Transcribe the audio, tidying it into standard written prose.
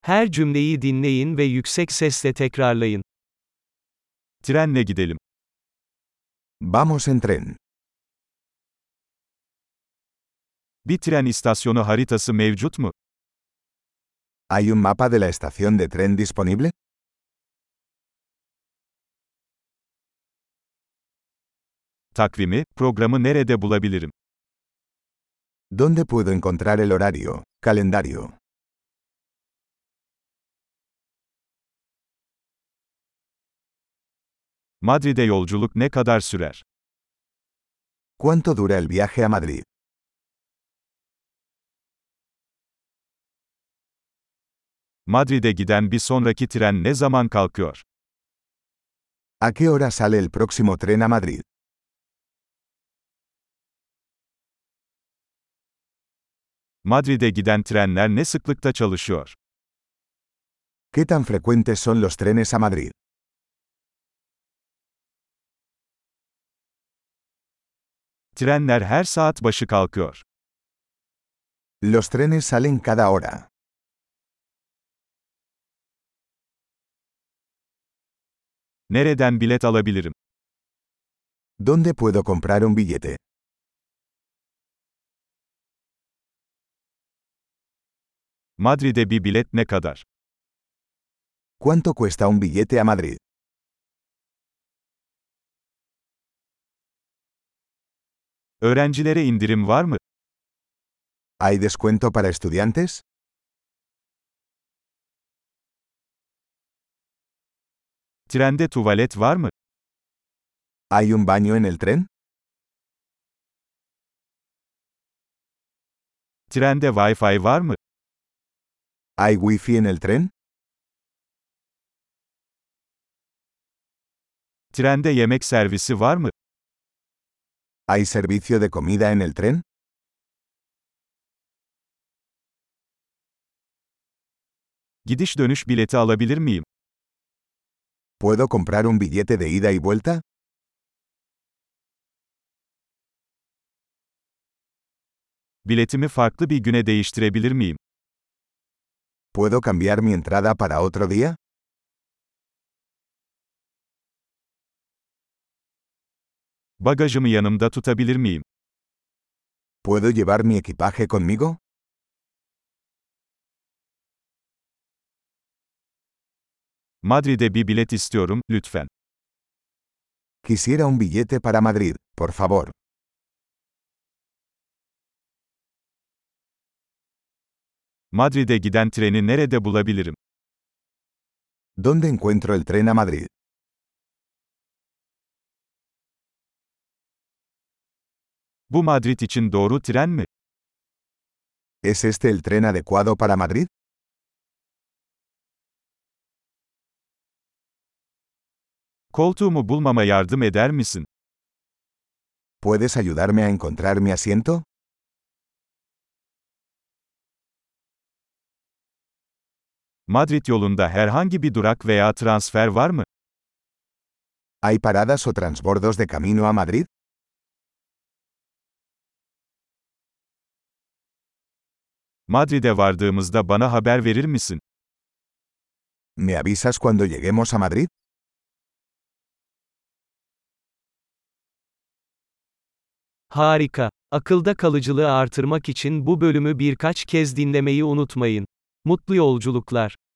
Her cümleyi dinleyin ve yüksek sesle tekrarlayın. Trenle gidelim. Vamos en tren. Bir tren istasyonu haritası mevcut mu? ¿Hay un mapa de la estación de tren disponible? Takvimi, programı nerede bulabilirim? ¿Dónde puedo encontrar el horario, calendario? Madrid'e yolculuk ne kadar sürer? ¿Cuánto dura el viaje a Madrid? Madrid'e giden bir sonraki tren ne zaman kalkıyor? ¿A qué hora sale el próximo tren a Madrid? Madrid'e giden trenler ne sıklıkta çalışıyor? ¿Qué tan frecuentes son los trenes a Madrid? Trenler her saat başı kalkıyor. Los trenes salen cada hora. Nereden bilet alabilirim? ¿Dónde puedo comprar un billete? Madrid'e bir bilet ne kadar? ¿Cuánto cuesta un billete a Madrid? Öğrencilere indirim var mı? ¿Hay descuento para estudiantes? Trende tuvalet var mı? ¿Hay un baño en el tren? Trende Wi-Fi var mı? ¿Hay wifi en el tren? Trende yemek servisi var mı? ¿Hay servicio de comida en el tren? Gidiş dönüş bileti alabilir miyim? ¿Puedo comprar un billete de ida y vuelta? Biletimi farklı bir güne değiştirebilir miyim? ¿Puedo cambiar mi entrada para otro día? Bagajımı yanımda tutabilir miyim? ¿Puedo llevar mi equipaje conmigo? Madrid'e bir bilet istiyorum, lütfen. Quisiera un billete para Madrid, por favor. Madrid'e giden treni nerede bulabilirim? ¿Dónde encuentro el tren a Madrid? Bu Madrid için doğru tren mi? ¿Es este el tren adecuado para Madrid? Koltuğumu bulmama yardım eder misin? ¿Puedes ayudarme a encontrar mi asiento? Madrid yolunda herhangi bir durak veya transfer var mı? ¿Hay paradas o transbordos de camino a Madrid? Madrid'e vardığımızda bana haber verir misin? ¿Me avisas cuando lleguemos a Madrid? Harika. Akılda kalıcılığı artırmak için bu bölümü birkaç kez dinlemeyi unutmayın. Mutlu yolculuklar.